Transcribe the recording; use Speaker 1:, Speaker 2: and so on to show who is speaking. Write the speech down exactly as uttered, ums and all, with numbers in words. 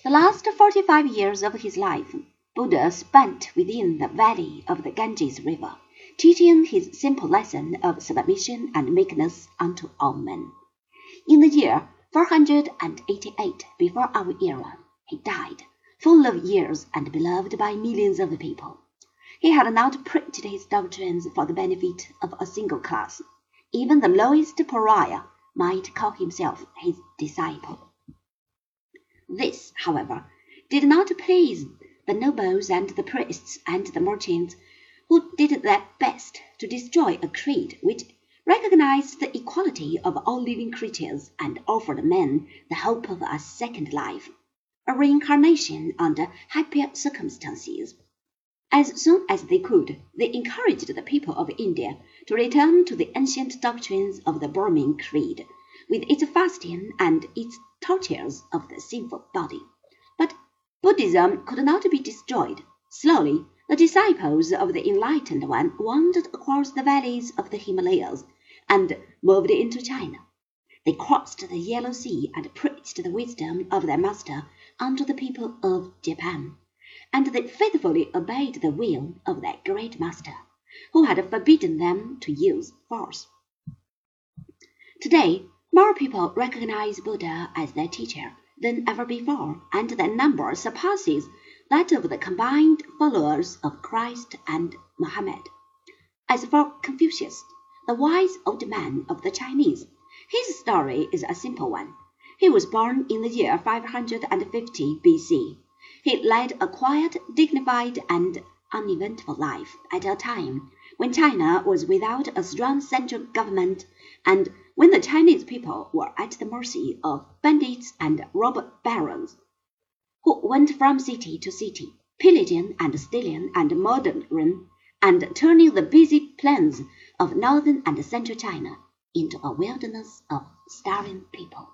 Speaker 1: The last forty-five years of his life, Buddha spent within the valley of the Ganges River, teaching his simple lesson of submission and meekness unto all men. In the year four hundred eighty-eight before our era, he died, full of years and beloved by millions of people. He had not preached his doctrines for the benefit of a single class. Even the lowest pariah might call himself his disciple. This, however, did not please the nobles and the priests and the merchants, who did their best to destroy a creed which recognized the equality of all living creatures and offered men the hope of a second life, a reincarnation under happier circumstances. As soon as they could, they encouraged the people of India to return to the ancient doctrines of the Brahmin creed, with its fasting and its tortures of the sinful body. But Buddhism could not be destroyed. Slowly, the disciples of the Enlightened One wandered across the valleys of the Himalayas and moved into China. They crossed the Yellow Sea and preached the wisdom of their master unto the people of Japan, and they faithfully obeyed the will of their great master, who had forbidden them to use force. Today, more people recognize Buddha as their teacher than ever before, and their number surpasses that of the combined followers of Christ and Muhammad. As for Confucius, the wise old man of the Chinese, his story is a simple one. He was born in the year five hundred fifty B C. He led a quiet, dignified, and uneventful life at a time when China was without a strong central government and when the Chinese people were at the mercy of bandits and robber barons, who went from city to city, pillaging and stealing and murdering, and turning the busy plains of northern and central China into a wilderness of starving people.